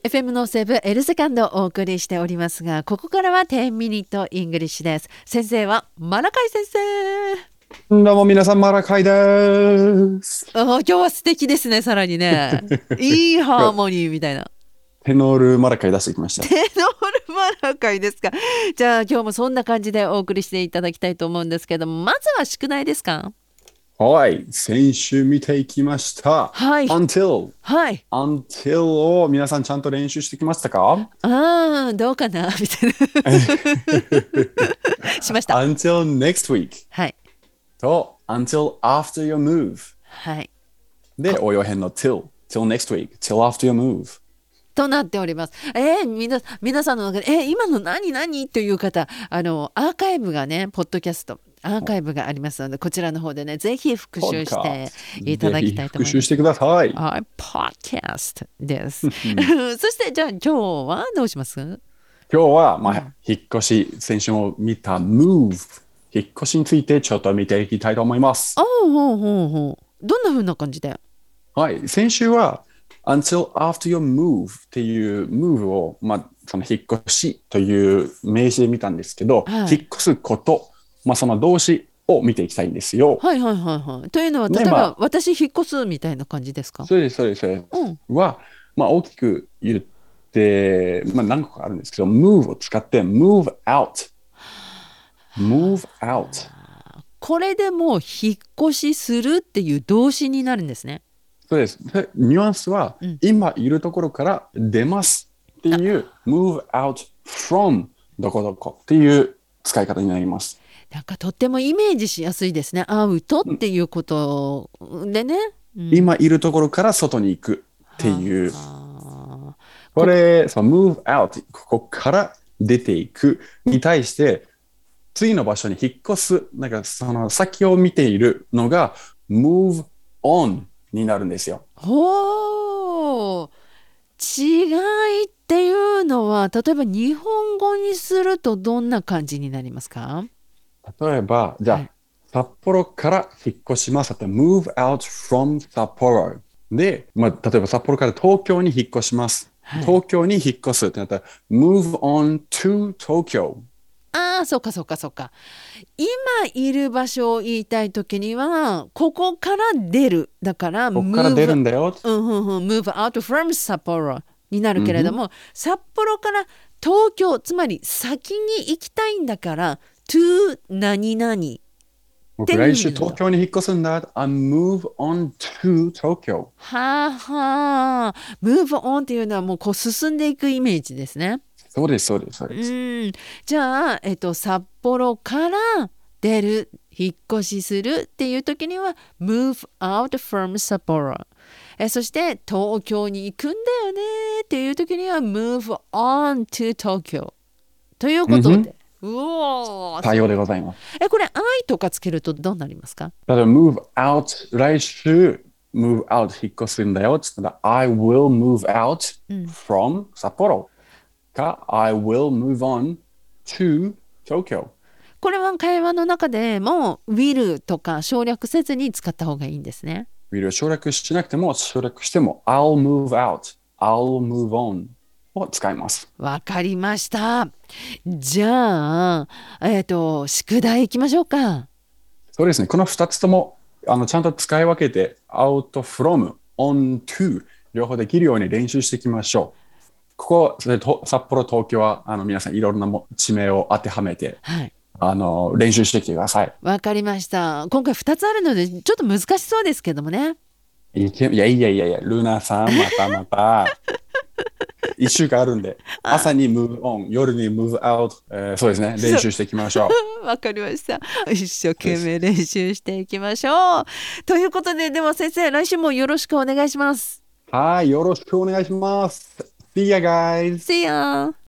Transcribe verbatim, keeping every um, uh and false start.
エフエム のセブエルセカンドをお送りしておりますが、ここからはじゅうミニットイングリッシュです。先生はマラカイ先生。 どうも皆さん、マラカイです。 あ、今日は素敵ですね。さらにね、いいハーモニーみたいな。 テノールマラカイ出してきました。 テノールマラカイですか。じゃあ今日もそんな感じでお送りしていただきたいと思うんですけども、まずは宿題ですか？ はい、先週見ていきました。 はい。 Until。 はい。 Until を皆さんちゃんと練習してきましたか？ ああ、どうかなみたいな。しました。 Until next week はい。 と Until after your move はい。 で応用編の till till next week till after your move となっております。えー、みな皆さんの中で、えー、今の何何という方、あのアーカイブがね、ポッドキャストアーカイブがありますので、こちらの方でね、ぜひ復習していただきたいと思います。 ぜひ復習してください。 はい、ポッドキャストです。そしてじゃあ今日はどうします？ 今日は、まあ、引っ越し、先週も見た move 引っ越しについてちょっと見ていきたいと思います。 ああ、ほうほうほう。どんな風な感じで？ はい、先週は until after your move っていう move を、まあ、その引っ越しという名詞で見たんですけど、 はい、 引っ越すこと、まあ、その動詞を見ていきたいんですよ。 はいはいはいはい。というのは、例えば、 ね、まあ、 私引っ越すみたいな感じですか？ そうです、そうです、そうです。 うん。 は、まあ、大きく言って、まあ、何個かあるんですけど、move を使って move out。move out。 これでもう引っ越しするっていう動詞になるんですね。 そうです。でニュアンスは、 うん、 今いるところから出ますっていう move out from どこどこっていう使い方になります。 なんかとってもイメージしやすいですね。アウトっていうことでね。うん、 今いるところから外に行くってはいう。 あ、 ここれ、その move out、ここから出ていくに対して、次の場所に引っ越す、なんかその先を見ているのが move on になるんですよ。 ほう、違いっていうのは、例えば日本語にするとどんな感じになりますか？ 例えば、じゃあ、 はい。 札幌から引っ越します。move out from 札幌。で、まあ、例えば札幌から東京に引っ越します。 はい。 東京に引っ越すってなったら、move on to 東京。 ああ、そうかそうかそうか。今いる場所を言いたいときには、ここから出る。だから、 ここから出る move、 んだよ。 うんうんうん、move out from 札幌になるうんふん。 けれども、札幌から東京、つまり先に行きたいんだから、to 何々っていう僕来週意味なんだ。 東京に引っ越すんだ。I move on to 東京。 はあはあ。move on っていうのはもうこう進んでいくイメージですね。 そうです、そうです、そううです。 ん。じゃあ、えっと、札幌から出る、引っ越しするっていう時には move out from 札幌。え、そして東京に行くんだよねっていう時には move on to 東京。といううんふん。 ことで。うおー、 対応でそう。 ございます。 え、これ I とかつけるとどうなりますか？ 例えば move out、来週 move out 引っ越すんだよ。つったら I will move out うん。 from 札幌。か、I will move on to 東京。 これは会話の中でも will とか省略せずに使った方がいいんですね。 will を省略しなくても、省略しても、I'll move out, I'll move on を使います。 わかりました。じゃあ、えっと、宿題いきましょうか。 そうですね。このふたつとも、あの、ちゃんと使い分けて、out from, on to 両方できるように練習していきましょう。ここ、それと札幌、東京は、あの、皆さんいろんなも地名を当てはめて、 はい。 あの、練習してきてください。 わかりました。今回ふたつあるので、ちょっと難しそうですけどもね。 いけいやいやいやいや、ルナさん、またまた。一週間あるんで、 あ、 朝に move on、夜に move out、えーそうですね、練習していきましょわかりました。一生う。です。 懸命練習していきましょう。ということで、では先生、来週もよろしくお願いします。 はい、よろしくお願いします。See ya, guys! See ya!